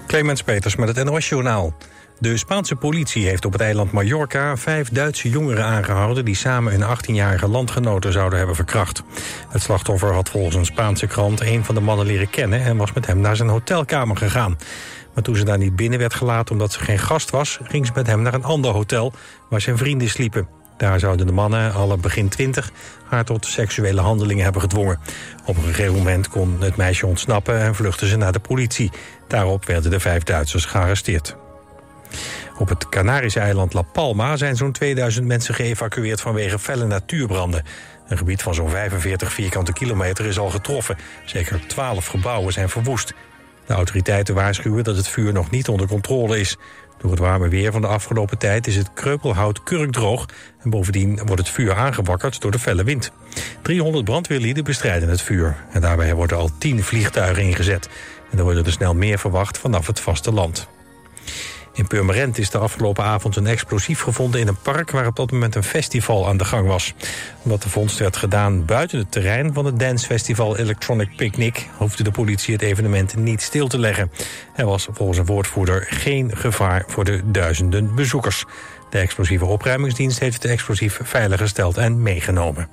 Clemens Peters met het NOS-journaal. De Spaanse politie heeft op het eiland Mallorca 5 Duitse jongeren aangehouden die samen een 18-jarige landgenote zouden hebben verkracht. Het slachtoffer had volgens een Spaanse krant een van de mannen leren kennen en was met hem naar zijn hotelkamer gegaan. Maar toen ze daar niet binnen werd gelaten omdat ze geen gast was, ging ze met hem naar een ander hotel waar zijn vrienden sliepen. Daar zouden de mannen, alle begin 20, haar tot seksuele handelingen hebben gedwongen. Op een gegeven moment kon het meisje ontsnappen en vluchtte ze naar de politie. Daarop werden de 5 Duitsers gearresteerd. Op het Canarische eiland La Palma zijn zo'n 2000 mensen geëvacueerd vanwege felle natuurbranden. Een gebied van zo'n 45 vierkante kilometer is al getroffen. Zeker 12 gebouwen zijn verwoest. De autoriteiten waarschuwen dat het vuur nog niet onder controle is. Door het warme weer van de afgelopen tijd is het kreupelhout kurkdroog en bovendien wordt het vuur aangewakkerd door de felle wind. 300 brandweerlieden bestrijden het vuur. En daarbij worden al 10 vliegtuigen ingezet. En er worden er snel meer verwacht vanaf het vasteland. In Purmerend is de afgelopen avond een explosief gevonden in een park waar op dat moment een festival aan de gang was. Omdat de vondst werd gedaan buiten het terrein van het dancefestival Electronic Picnic, hoefde de politie het evenement niet stil te leggen. Er was volgens een woordvoerder geen gevaar voor de duizenden bezoekers. De explosieve opruimingsdienst heeft het explosief veiliggesteld en meegenomen.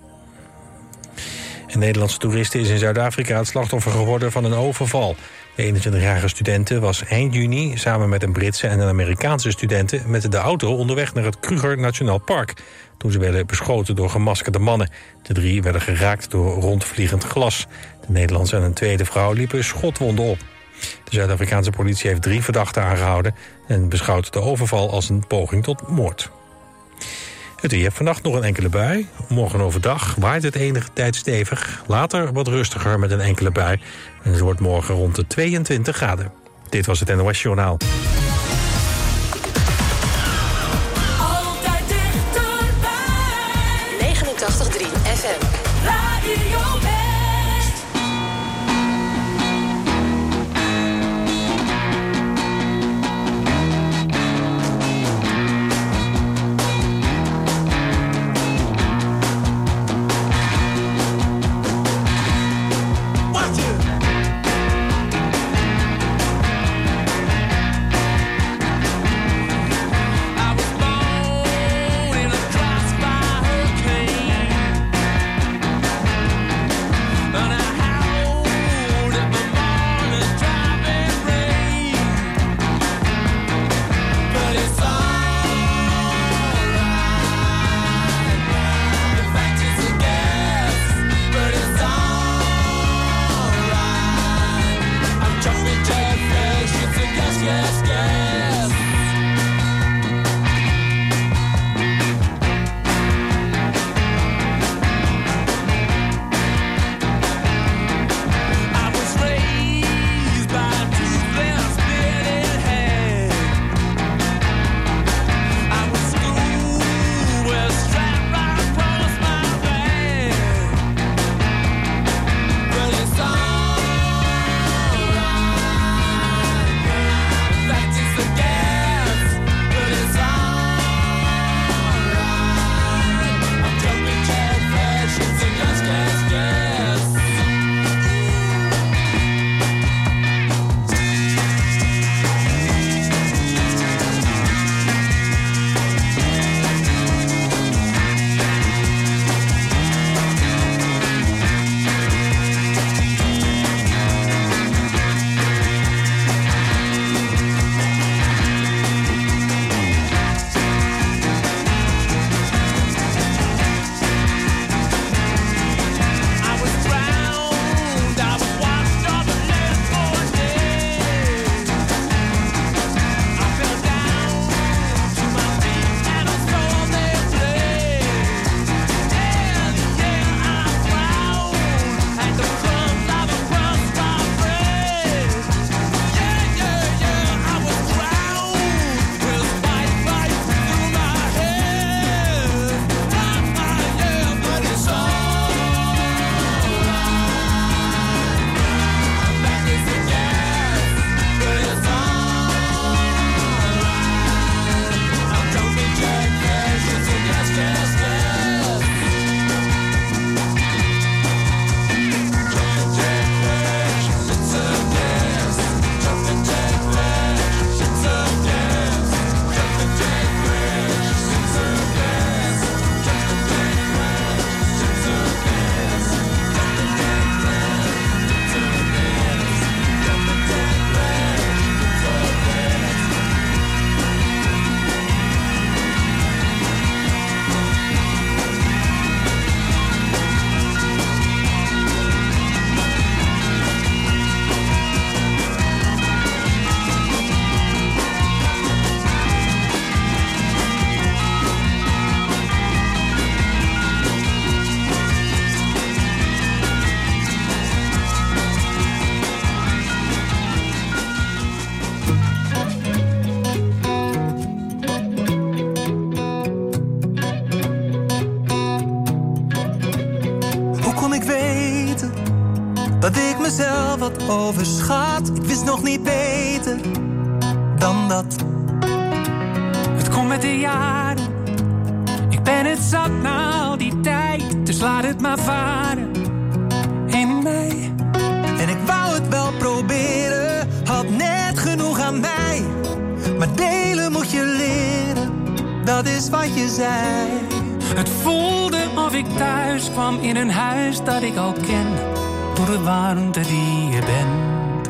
Een Nederlandse toeriste is in Zuid-Afrika het slachtoffer geworden van een overval. De 21-jarige studente was eind juni samen met een Britse en een Amerikaanse studente met de auto onderweg naar het Kruger Nationaal Park, toen ze werden beschoten door gemaskerde mannen. De 3 werden geraakt door rondvliegend glas. De Nederlandse en een tweede vrouw liepen schotwonden op. De Zuid-Afrikaanse politie heeft 3 verdachten aangehouden en beschouwt de overval als een poging tot moord. Het weer. Vannacht nog een enkele bui. Morgen overdag waait het enige tijd stevig. Later wat rustiger met een enkele bui. En het wordt morgen rond de 22 graden. Dit was het NOS Journaal. Altijd dichterbij. 89.3 FM. Radio West. overschat. Ik wist nog niet beter dan dat. Het komt met de jaren. Ik ben het zat na al die tijd. Dus laat het maar varen in mij. En ik wou het wel proberen, had net genoeg aan mij. Maar delen moet je leren, dat is wat je zei. Het voelde of ik thuis kwam in een huis dat ik al ken. Door de warmte die je bent.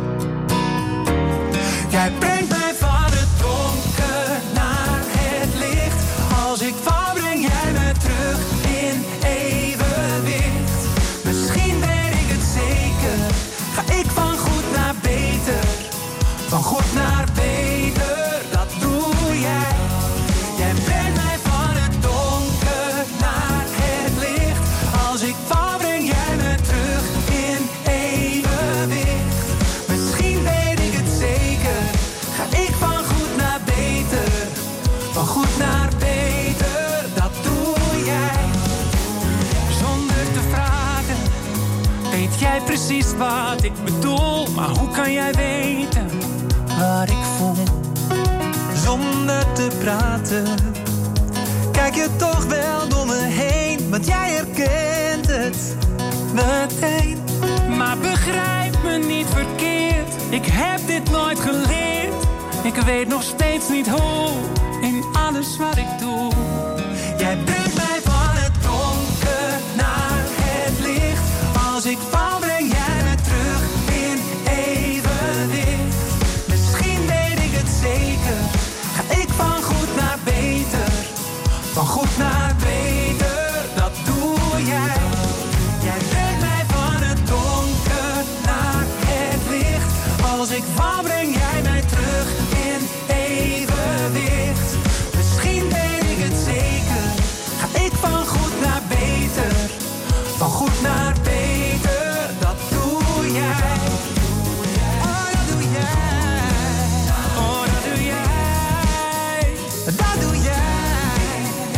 Jij brengt mij van het donker naar het licht. Als ik val, breng jij me terug in evenwicht. Misschien weet ik het zeker, ga ik van goed naar beter. Van goed naar beter, dat doe jij. Jij brengt mij van het donker naar het licht. Als ik val, breng jij me terug in evenwicht. Misschien weet ik het zeker, ga ik van goed naar beter. Van goed naar beter, dat doe jij. Zonder te vragen, weet jij precies wat ik bedoel. Maar hoe kan jij weten wat ik voel? Zonder te praten, kijk je toch wel door me heen. Want jij herkent het meteen. Maar begrijp me niet verkeerd, ik heb dit nooit geleerd. Ik weet nog steeds niet hoe, in alles wat ik doe. Jij brengt mij van het donker naar het licht. Als ik val, breng jij me terug in evenwicht. Misschien weet ik het zeker, ga ik van goed naar beter. Van goed naar beter, dat doe jij. Jij brengt mij van het donker naar het licht. Als ik val, breng jij mij terug in evenwicht. Misschien weet ik het zeker, ga ik van goed naar beter. Van goed naar beter, dat doe jij. Oh, dat doe jij. Oh, dat doe jij. Dat doe jij.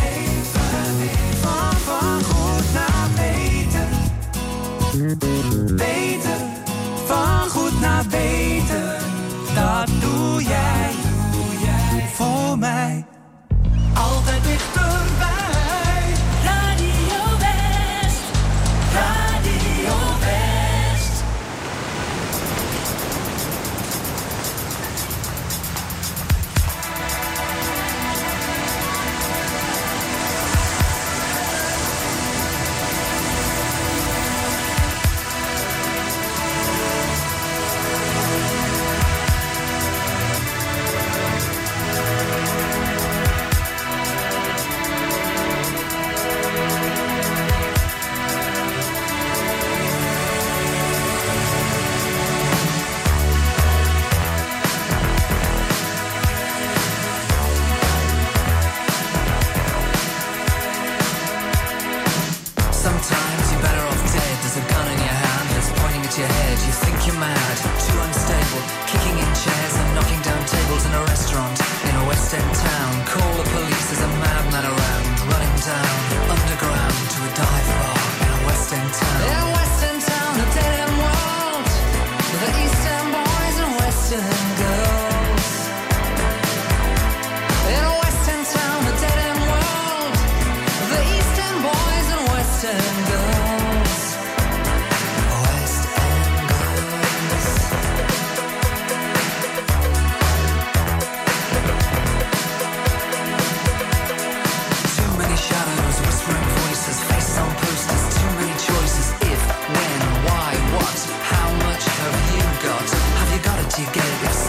Van goed naar beter. Beter, van goed naar beter. Dat doe jij voor mij. Altijd dichterbij. Radio West, Radio West. Sometimes you're better off dead. There's a gun in your hand that's pointing at your head. You think you're mad, too unstable, kicking in chairs and knocking down tables in a restaurant in a West End town. Call the police, there's a madman around, running down underground to a dive bar in a West End town. In a West End town, a dead end world, the East End boys and West End girls. In a West End town, a dead end world, the East End boys and West End girls. West End girls. Too many shadows, whispering voices, faces on posters, too many choices. If, when, why, what, how much have you got? Have you got it? Do you get it? If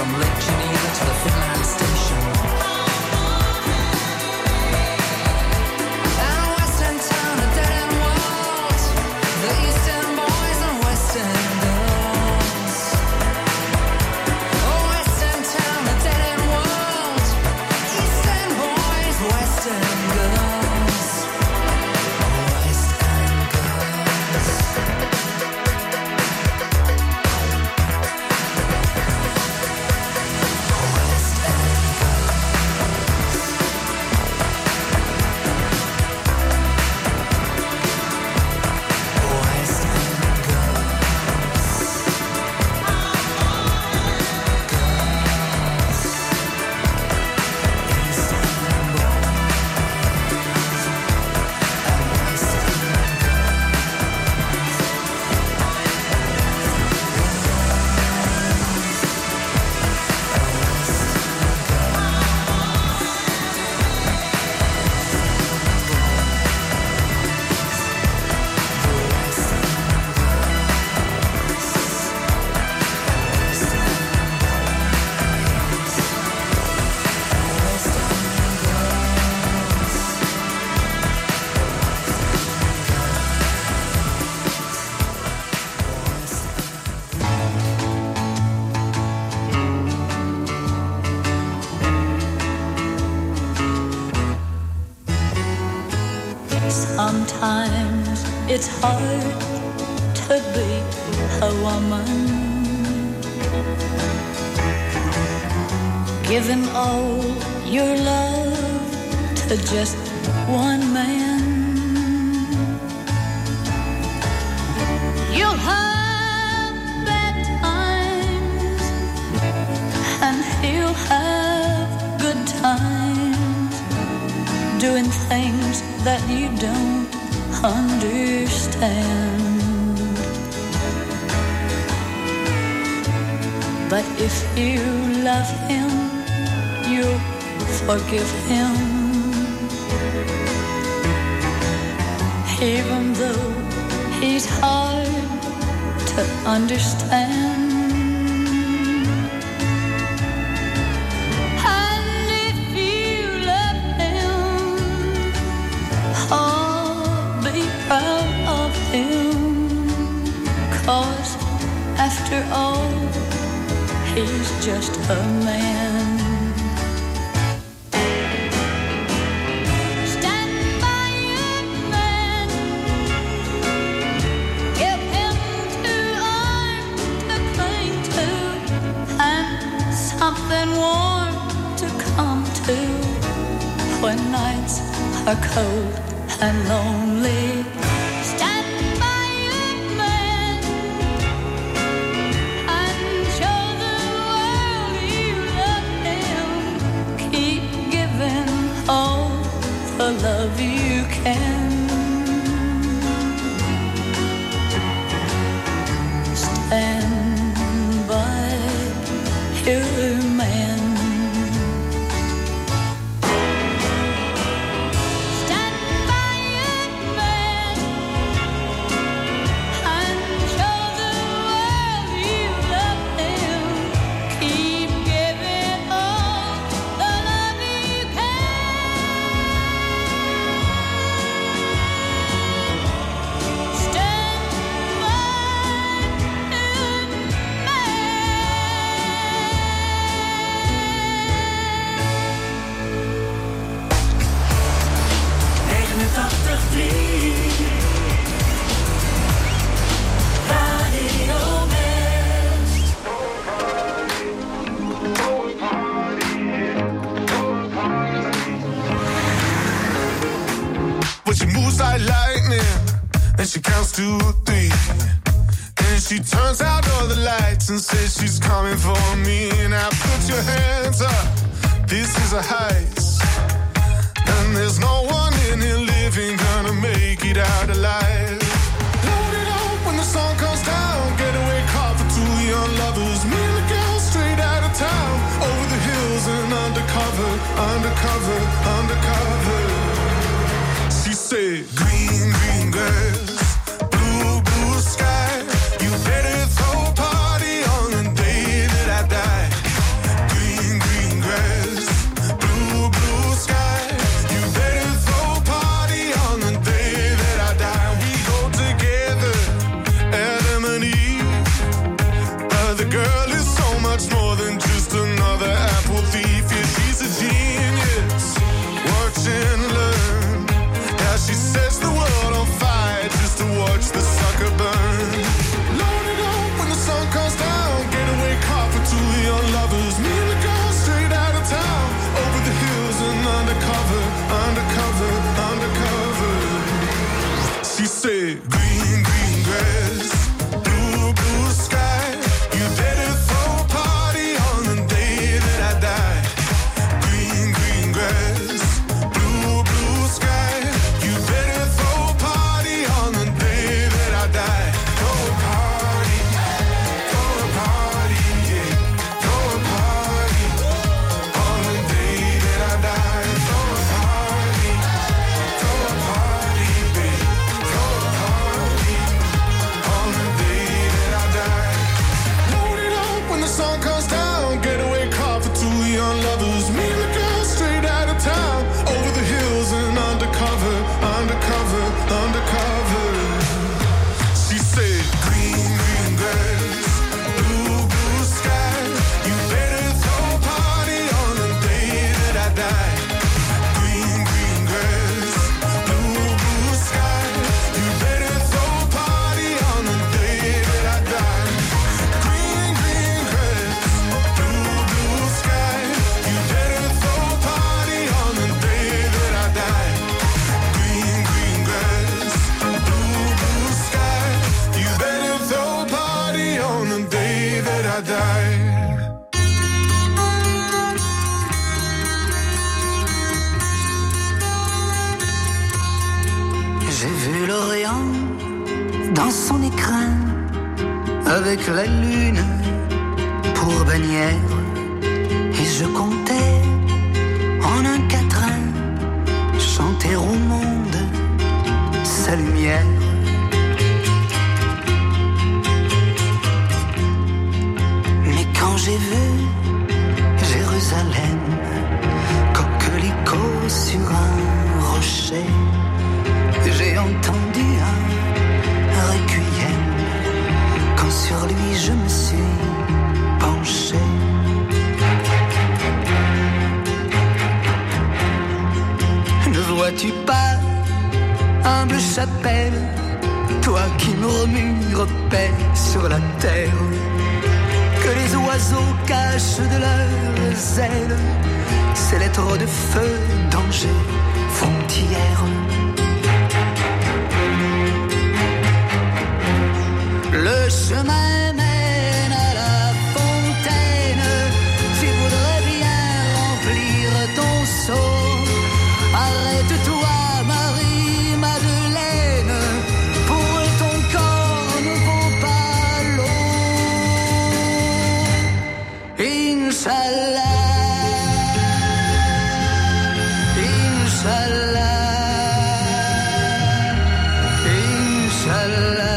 from Lake Geneva to the Finland station. And a western town, a dead-end world, the eastern boys and western girls. A western town, a dead-end world, eastern boys, western girls. Sometimes it's hard to be a woman, giving all your love to just one man. You'll have bad times and he'll have good times, doing things that you don't understand. But if you love him, you'll forgive him, even though he's hard to understand. Proud of him, 'cause after all, he's just a man. Stand by your man, give him 2 arms to cling to, and something warm to come to when nights are cold and lonely. Stand by your man and show the world you love him. Keep giving all the love you can. Stand by your man. And she counts to 3, and she turns out all the lights and says she's coming for me. Now put your hands up, this is a heist, and there's no one in here living gonna make it out alive. Load it up when the sun comes down, getaway car for 2 young lovers, me and the girl straight out of town, over the hills and undercover, undercover, undercover. She said, green, green grass, blue, blue sky, you better throw a party on the day that I die. J'ai vu l'Orient dans son écrin, avec la lune pour bannière, et je comptais en un quatrain chanter au monde sa lumière. Mais quand j'ai vu Jérusalem, coquelicot sur un rocher, j'ai entendu un requiem, quand sur lui je me suis penché. Ne vois-tu pas, humble chapelle, toi qui murmures paix sur la terre, que les oiseaux cachent de leurs ailes ces lettres de feu, danger, frontière. Le chemin mène à la fontaine, tu voudrais bien remplir ton seau. Arrête-toi, Marie-Madeleine, pour ton corps ne vaut pas l'eau. Inch'Allah, Inch'Allah, Inch'Allah.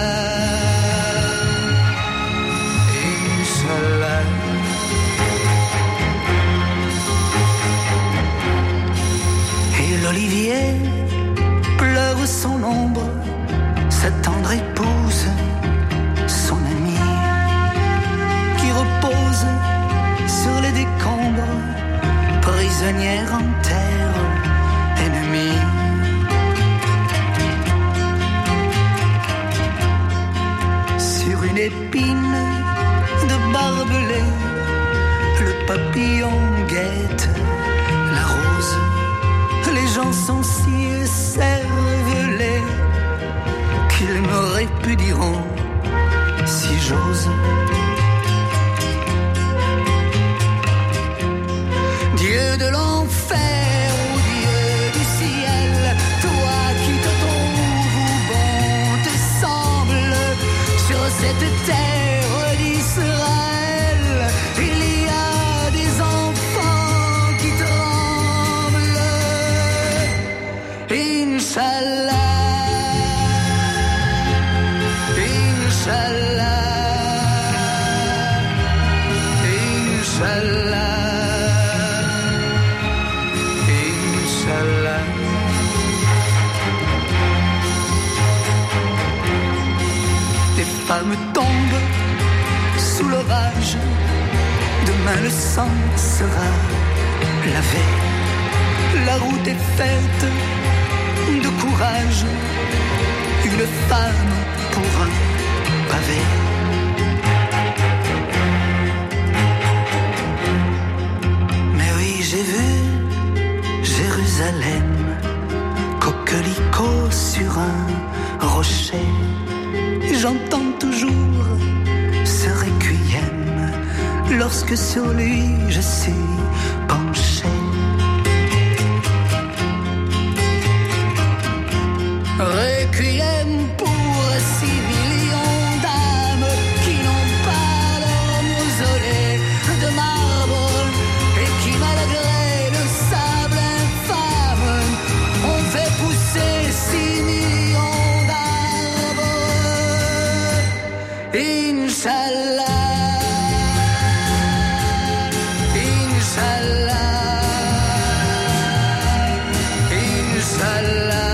L'olivier pleure son ombre, sa tendre épouse, son amie, qui repose sur les décombres, prisonnière en terre ennemie. Sur une épine de barbelé, le papillon guette la rose. Les gens sont si écervelés qu'ils me répudieront si j'ose. Dieu de l'enfer ou Dieu du ciel, toi qui te trouves bon te semble, sur cette terre d'Israël, il y a des enfants qui tremblent. Inch'Allah, Inch'Allah, Inch'Allah, Inch'Allah. Les femmes tombent sous l'orage, demain le sang sera lavé. La route est faite de courage, une femme pour un pavé. Mais oui, j'ai vu Jérusalem, coquelicot sur un rocher. J'entends toujours ce requiem lorsque sur lui je suis penché. Requiem pour 6 millions d'âmes qui n'ont pas leur mausolée de marbre et qui, malgré le sable infâme, ont fait pousser 6 millions d'arbres. Inch'Allah, Inch'Allah, Inch'Allah.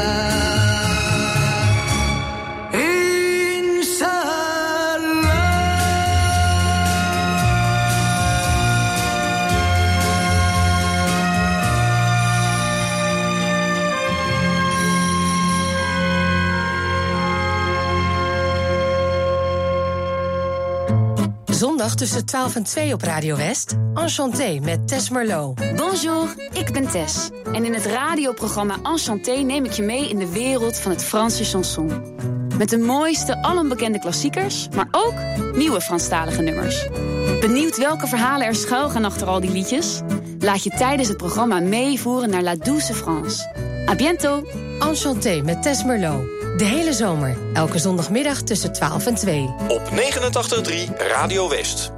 Zondag tussen 12 en 2 op Radio West. Enchanté met Tess Merlot. Bonjour, ik ben Tess. En in het radioprogramma Enchanté neem ik je mee in de wereld van het Franse chanson. Met de mooiste, alombekende klassiekers, maar ook nieuwe Franstalige nummers. Benieuwd welke verhalen er schuilgaan achter al die liedjes? Laat je tijdens het programma meevoeren naar La Douce France. À bientôt! Enchanté met Tess Merlot. De hele zomer, elke zondagmiddag tussen 12 en 2. Op 89.3 Radio West.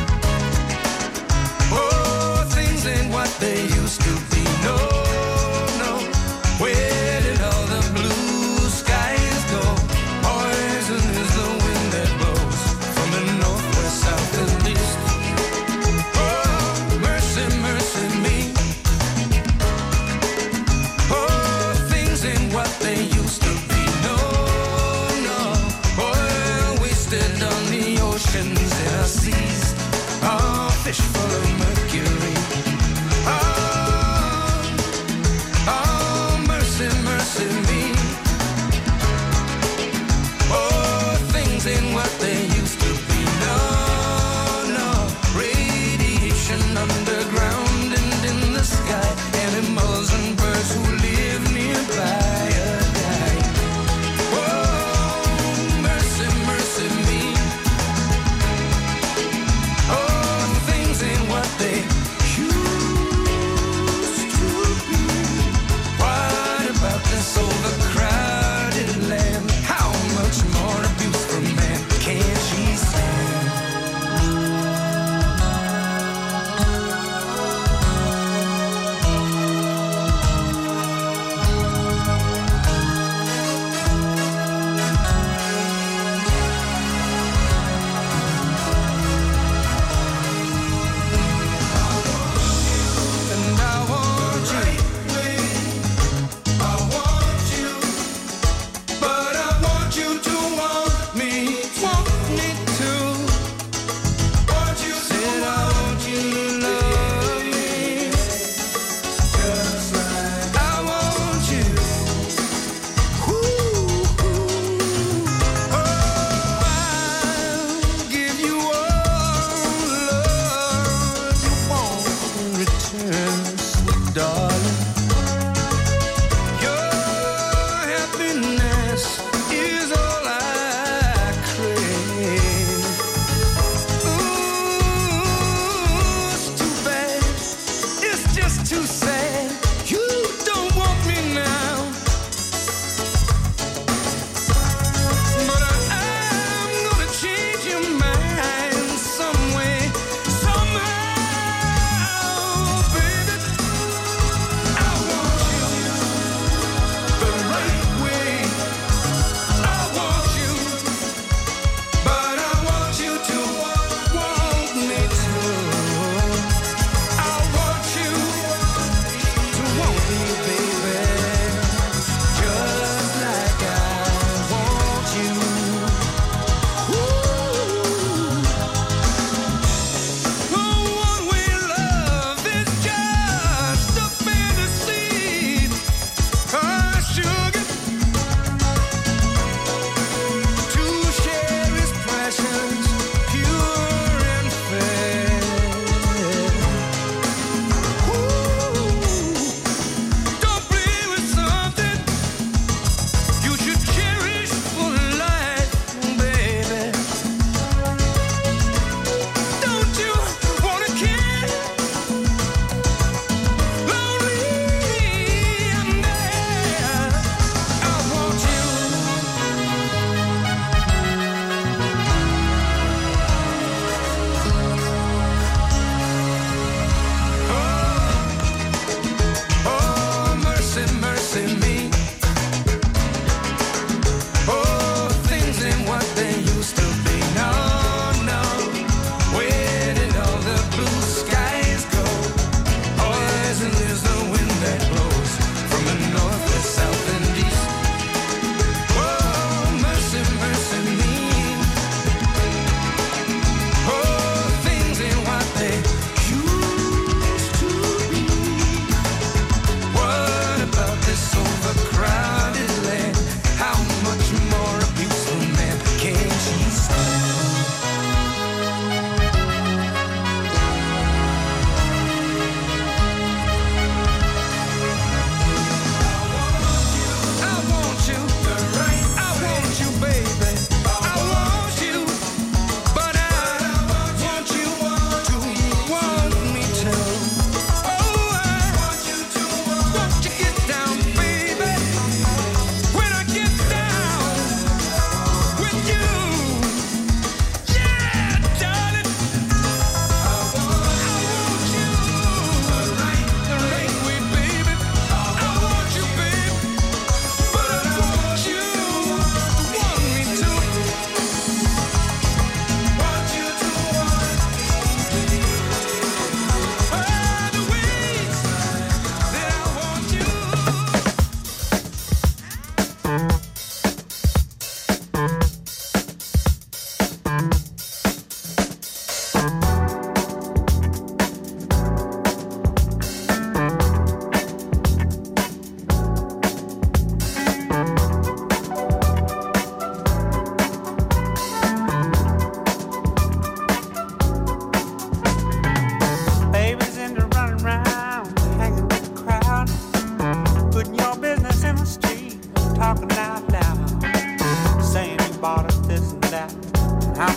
They used to be. No,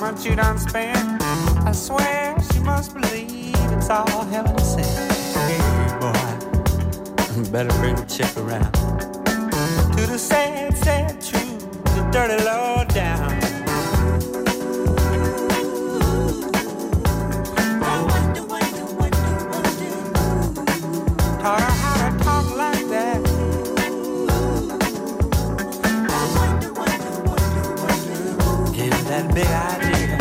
much you done spent. I swear she must believe it's all heaven sent. Hey, boy, better bring the chick around. To the sad, sad truth, the dirty low down. Taught her how to talk like that. Gave her that big idea.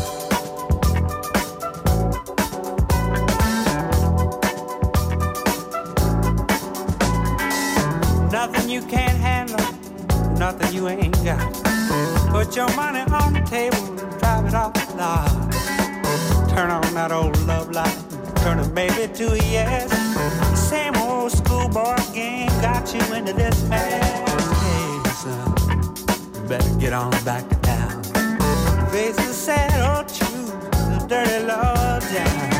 Nothing you can't handle, nothing you ain't got. Put your money on the table and drive it off the lot. Turn on that old love light, turn a baby to a yes. Same old schoolboy game got you into this mess. Hey, son, you better get on back to town. Face the sad old truth, the dirty low down.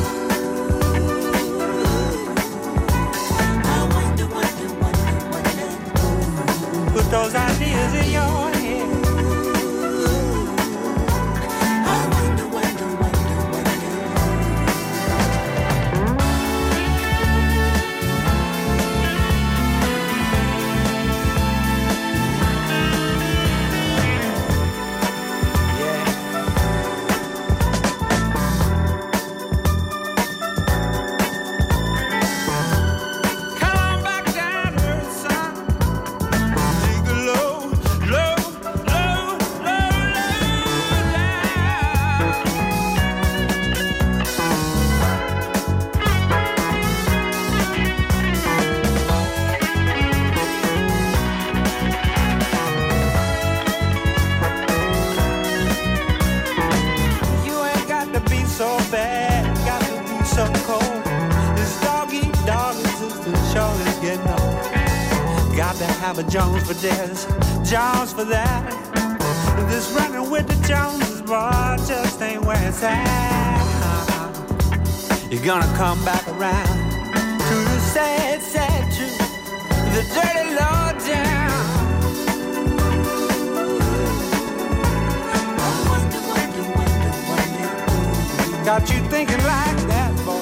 Put those ideas in your head. Have a Jones for this, Jones for that. This running with the Joneses, boy, just ain't where it's at. You're gonna come back around to the sad, sad truth, the dirty low down. Got you thinking like that, boy.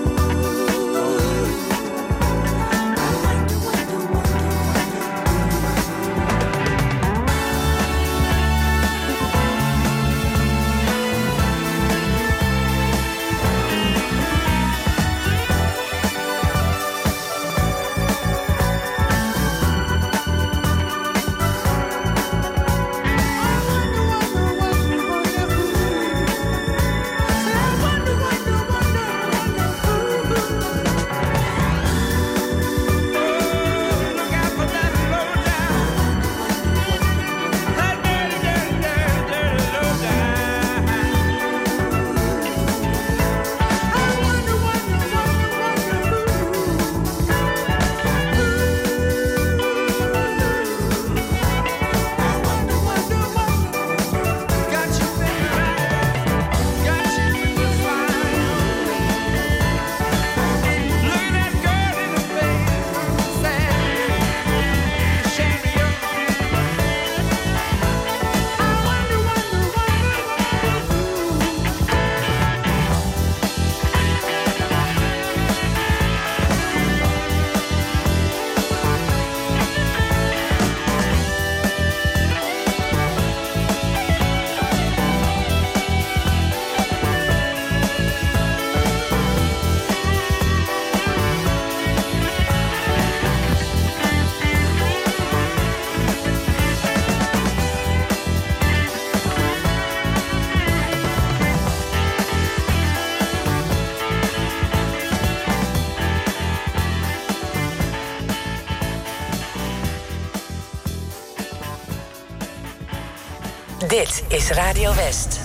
Dit is Radio West.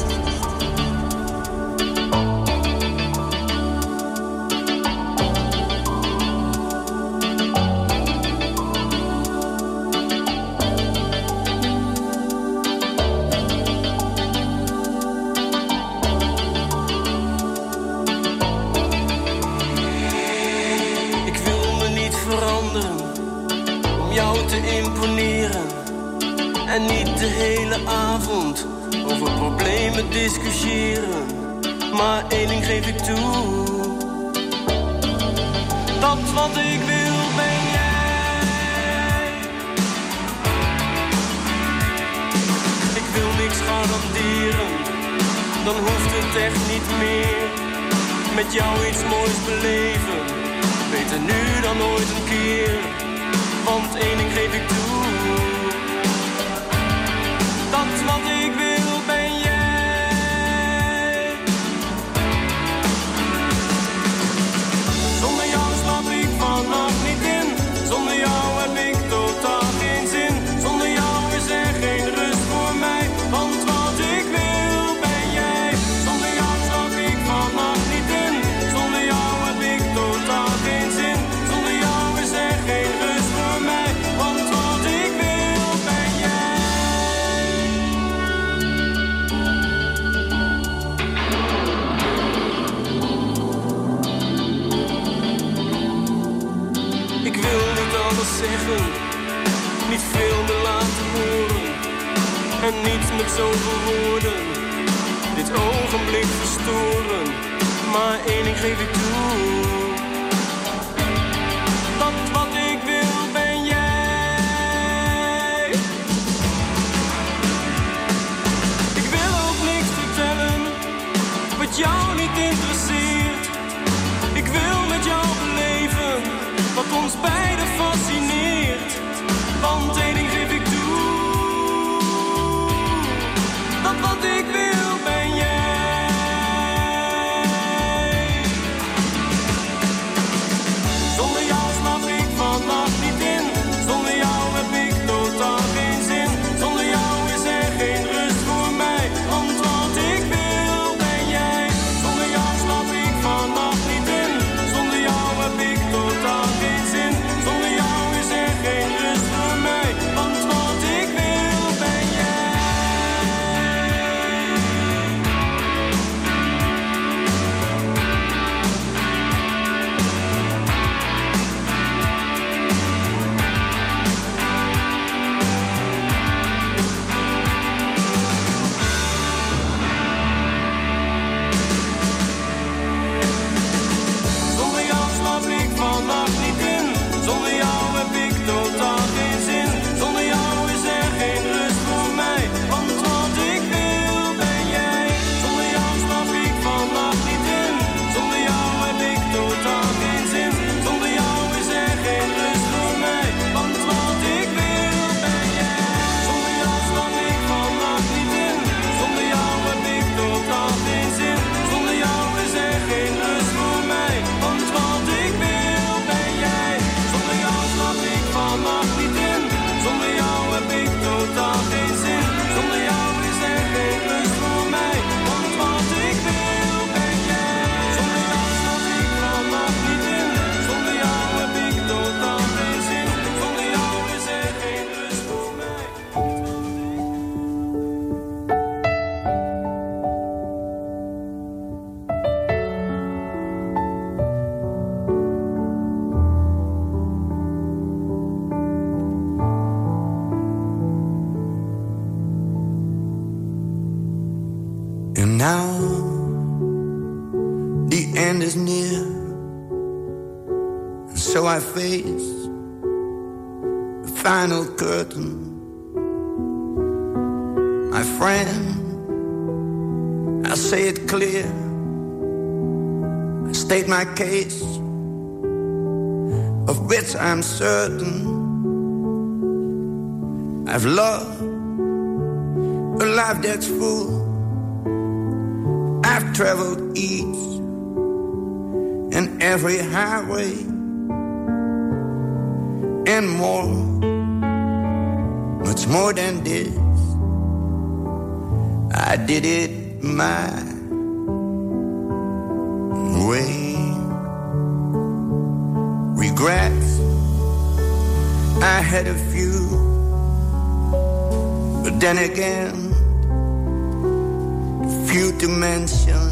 Ik wil me niet veranderen om jou te imponeren. En niet de hele avond over problemen discussiëren. Maar één ding geef ik toe. Dat wat ik wil ben jij. Ik wil niks garanderen, dan hoeft het echt niet meer. Met jou iets moois beleven, beter nu dan ooit een keer. Want één ding geef ik toe. Dat wat ik wil ben jij. Zonder jou slaap ik vannacht niet in. Zonder jou heb ik totaal geen zin. Zonder jou is er geen rust voor mij. Want wat ik wil ben jij. Zonder jou slaap ik vannacht niet in. Zonder jou heb ik totaal geen zin. Zonder jou is er geen rust voor mij. Want wat ik wil ben jij. Ik wil niet alles zeggen, niet veel meer laten horen. En niet met zoveel woorden dit ogenblik verstoren. Maar één ding geef ik toe. Dat wat ik wil ben jij. Ik wil ook niks vertellen wat jou niet interesseert. Ik wil met jou beleven wat ons beiden fascineert. Want één ding geef ik toe. Dat wat ik wil ben jij. Zonder jou slaap ik vannacht niet in. Zonder jou heb ik totaal geen zin. Zonder jou is er geen rust voor mij. Want wat ik wil ben jij. Zonder jou slaap ik vannacht niet in. Zonder jou heb ik totaal geen zin. Zonder jou is er geen rust voor mij. Want wat ik wil ben jij. Zonder jou slaap ik vannacht niet in. Zonder jou heb ik totaal geen zin. Zonder jou is er geen rust voor mij. Want wat ik wil ben jij. Zonder jou slaap ik vannacht niet in. Zonder jou heb ik totaal geen zin. Zonder jou is er geen rust voor mij. Want wat ik wil ben jij. Zonder jou slaap ik vannacht niet in. Zonder jou heb ik totaal geen zin. Zonder jou is er geen rust voor mij. Want wat ik wil ben jij. Zonder jou slaap ik vannacht niet in. Zonder jou heb ik totaal geen zin. Zonder jou is er geen rust voor mij. Want wat ik wil ben jij. Zonder jou slaap ik vannacht niet in. Zonder jou heb ik totaal geen zin. Zonder jou is er geen rust voor mij. And now the end is near, and so I face the final curtain. My friend, I say it clear, I state my case, of which I'm certain. I've loved a life that's full. I've traveled each and every highway and more, much more than this. I did it my way. Regrets, I had a few, but then again, few to mention.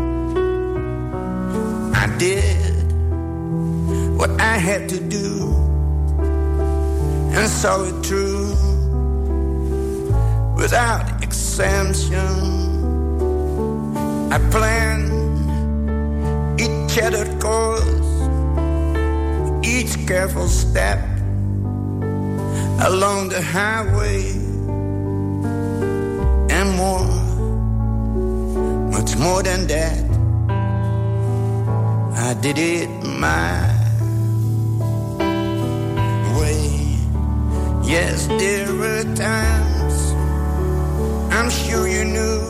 I did what I had to do and saw it through without exemption. I plan each shattered course, each careful step along the highway, and more, much more than that. I did it my way. Yes, there were times, I'm sure you knew,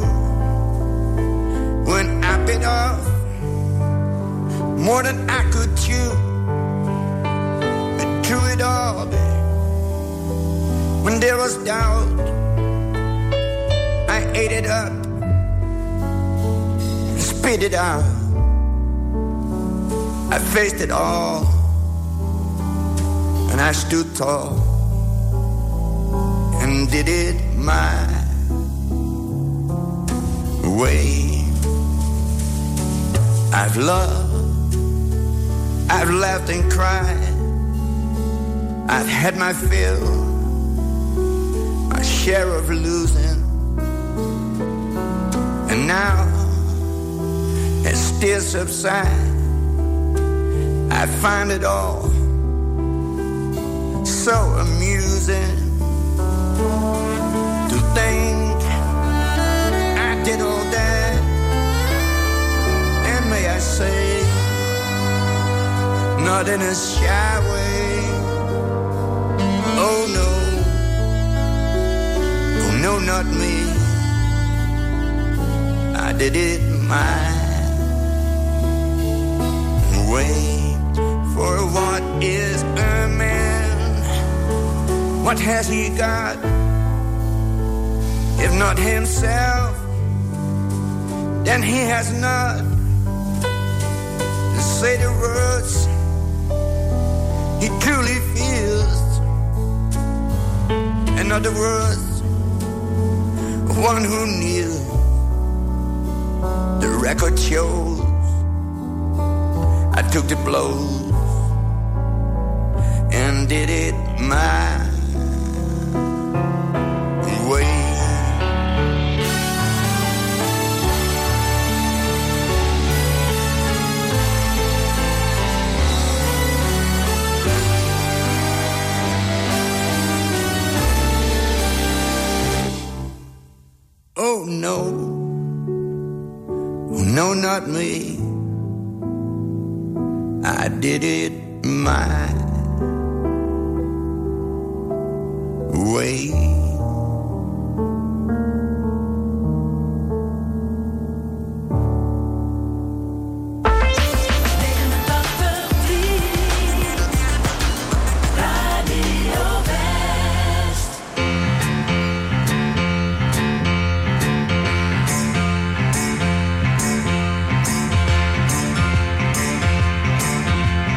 when I bit off more than I could chew. But through it all, when there was doubt, I ate it up and spit it out. I faced it all, and I stood tall and did it my way. I've loved, I've laughed and cried, I've had my fill, my share of losing, and now it still subsides. I find it all so amusing to think I did all that, and may I say, not in a shy way. Oh no, oh no, not me. I did it my way. For what is a man? What has he got? If not himself, then he has not to say the words he truly feels. In other words, one who knew the record shows I took the blows and did it my way. Oh no, oh no, not me. I did it my way.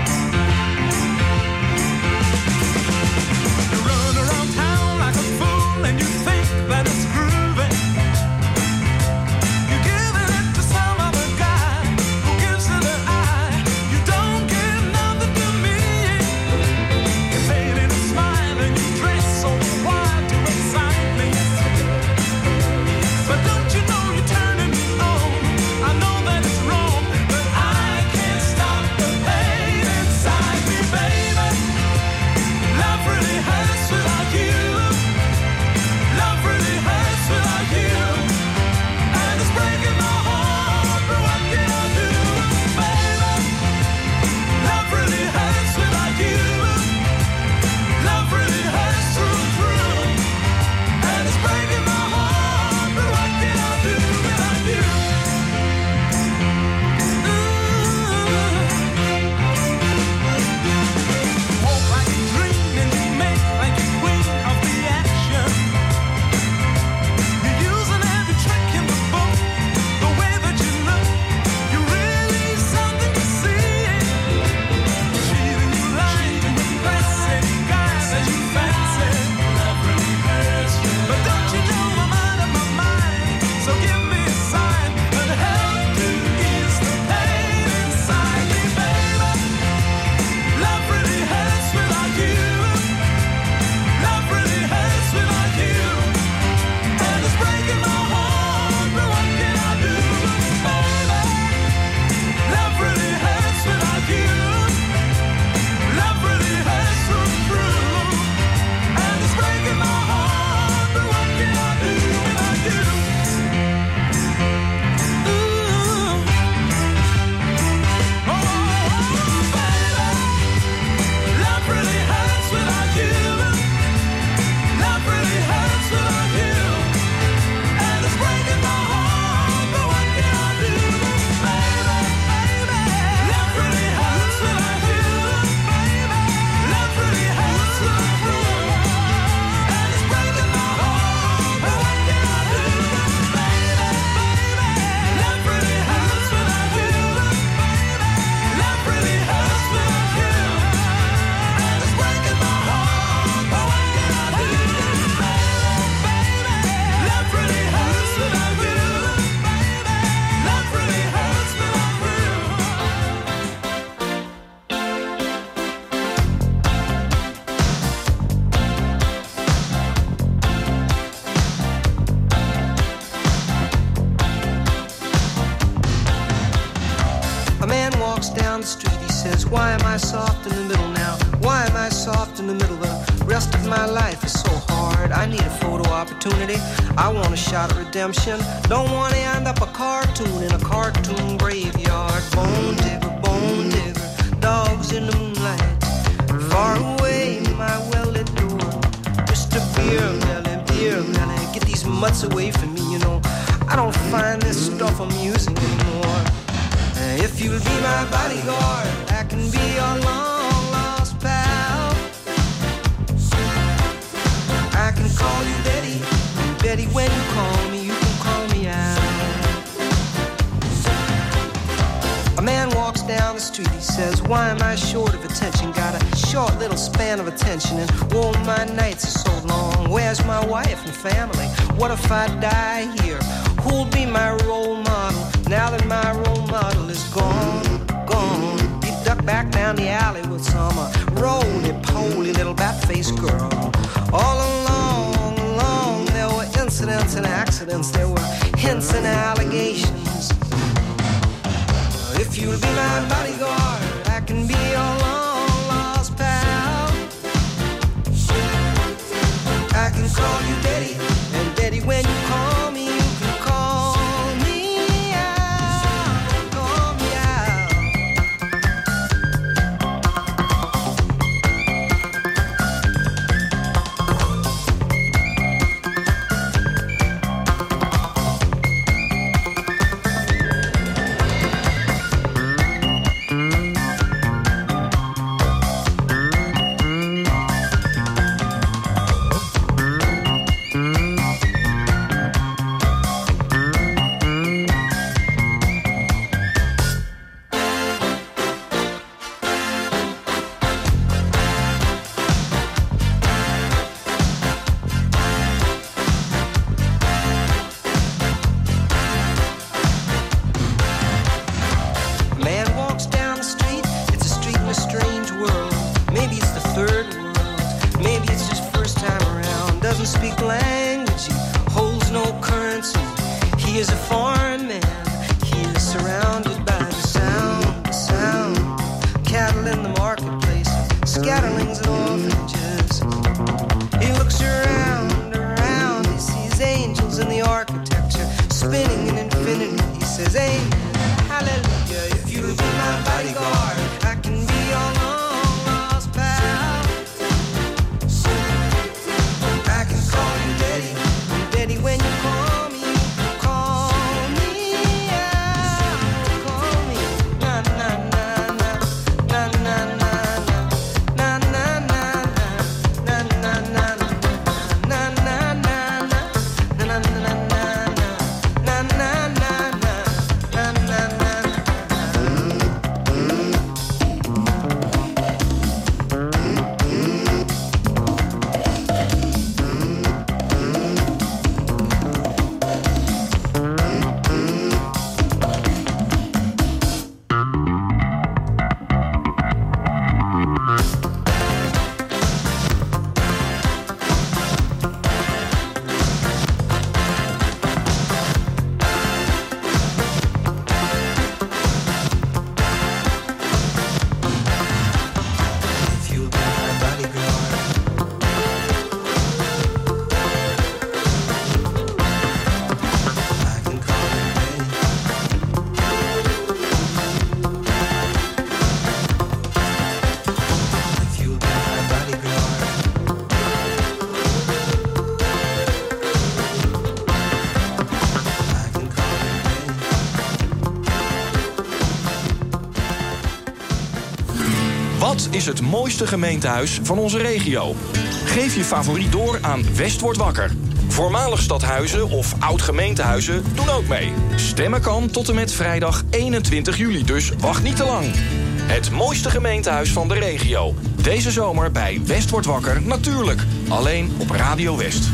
Run around town like a fool. down the street. He says, why am I soft in the middle now? Why am I soft in the middle? The rest of my life is so hard. I need a photo opportunity. I want a shot at redemption. Don't want to end up a cartoon in a cartoon graveyard. Bone digger, dogs in the moonlight. Far away, my well-lit door. Mr. Beer Melly, get these mutts away from me, you know. I don't find this stuff amusing anymore. If you'll be my bodyguard, I can be your long-lost pal. I can call you Betty, and Betty, when you call me, you can call me out. A man walks down the street, he says, why am I short of attention? Got a short little span of attention, and oh, my nights are so long. Where's my wife and family? What if I die here? Who'll be my role model now that my role model is gone? He ducked back down the alley with some roly-poly little bat-faced girl. All along, there were incidents and accidents. There were hints and allegations. If you'll be my bodyguard, I can be your long-lost pal. I can call you Betty, and Betty, when you call me, you can call me out, call me out. Wat is het mooiste gemeentehuis van onze regio? Geef je favoriet door aan West wordt wakker. Voormalig stadhuizen of oud-gemeentehuizen doen ook mee. Stemmen kan tot en met vrijdag 21 juli, dus wacht niet te lang. Het mooiste gemeentehuis van de regio. Deze zomer bij West wordt wakker, natuurlijk. Alleen op Radio West.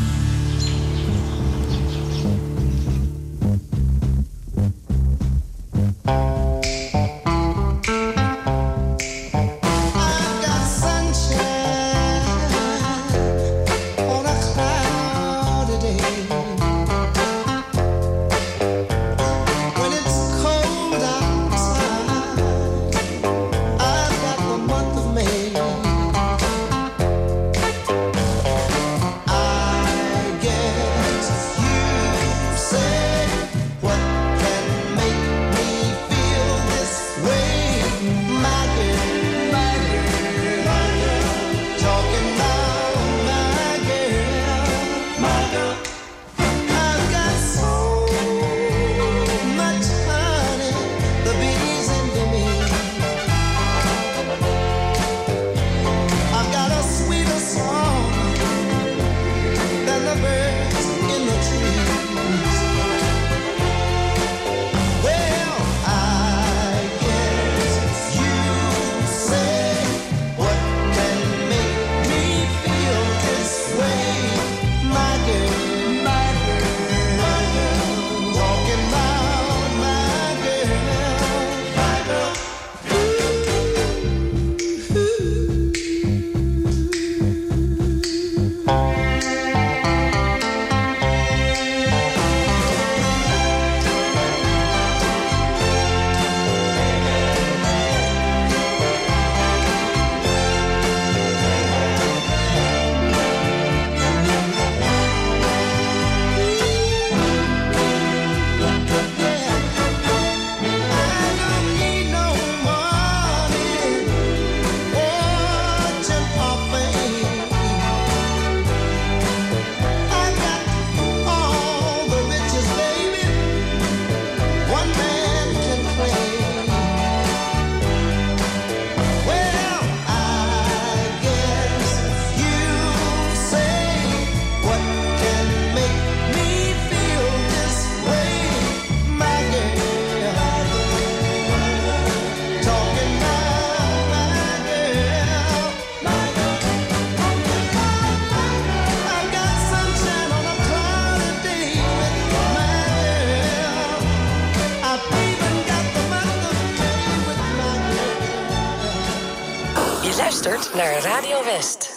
luistert naar Radio West.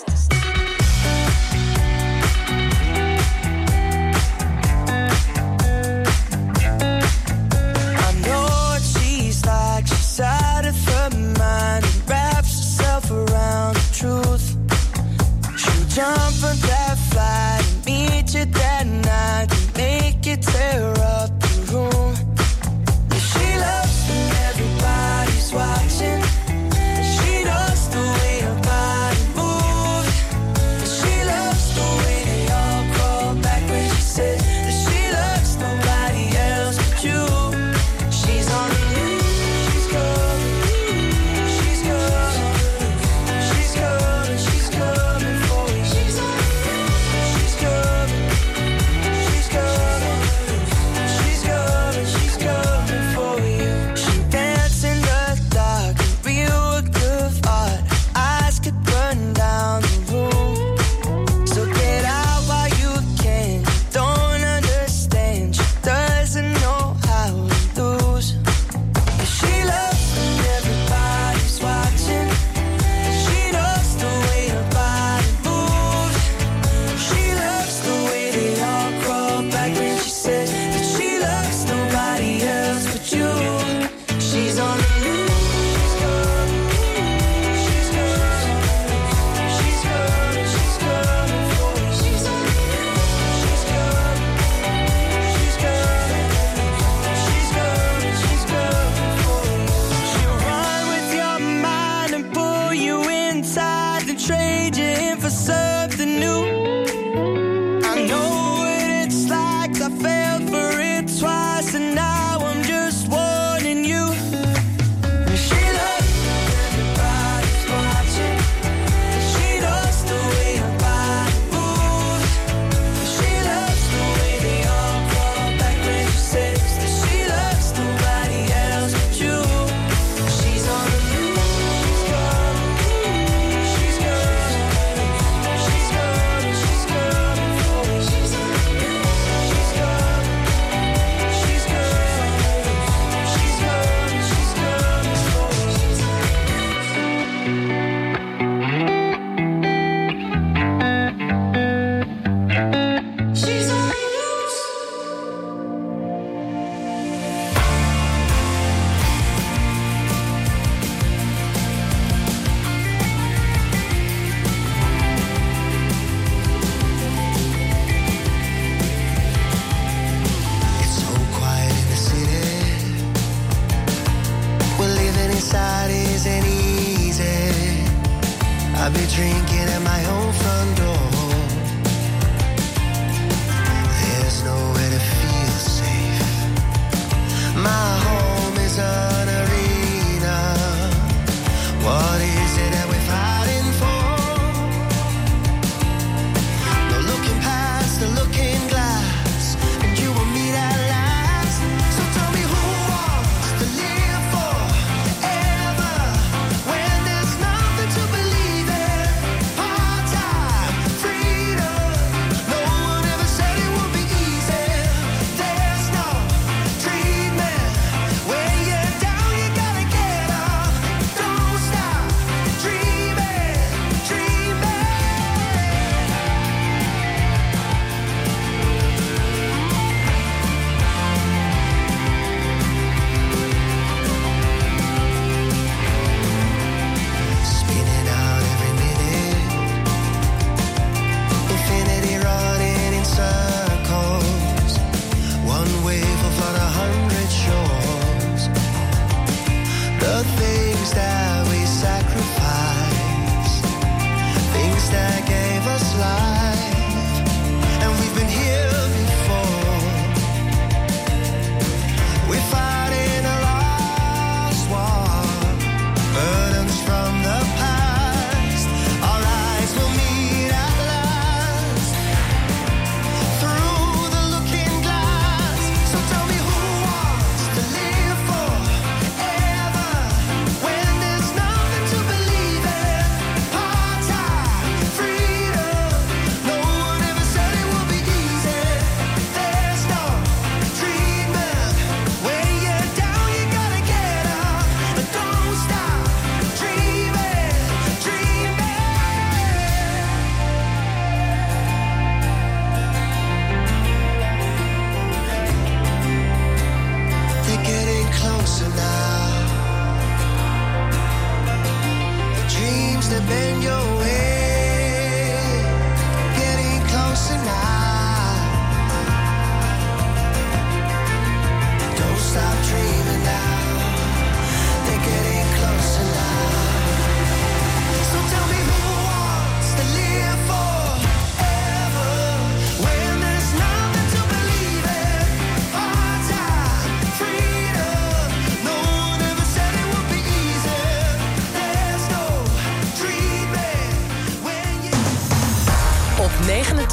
She's out of her mind and wraps herself around the truth. She'll jump on that flight and meet you that night and make you tear up the room. Yeah, she loves when everybody's watching. She knows the way her body moves. She loves the way they all crawl back when she says that she loves nobody else but you. She's on the move.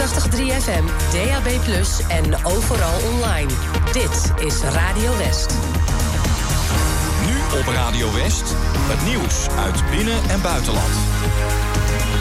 89.3 FM, DAB+ en overal online. Dit is Radio West. Nu op Radio West, het nieuws uit binnen- en buitenland.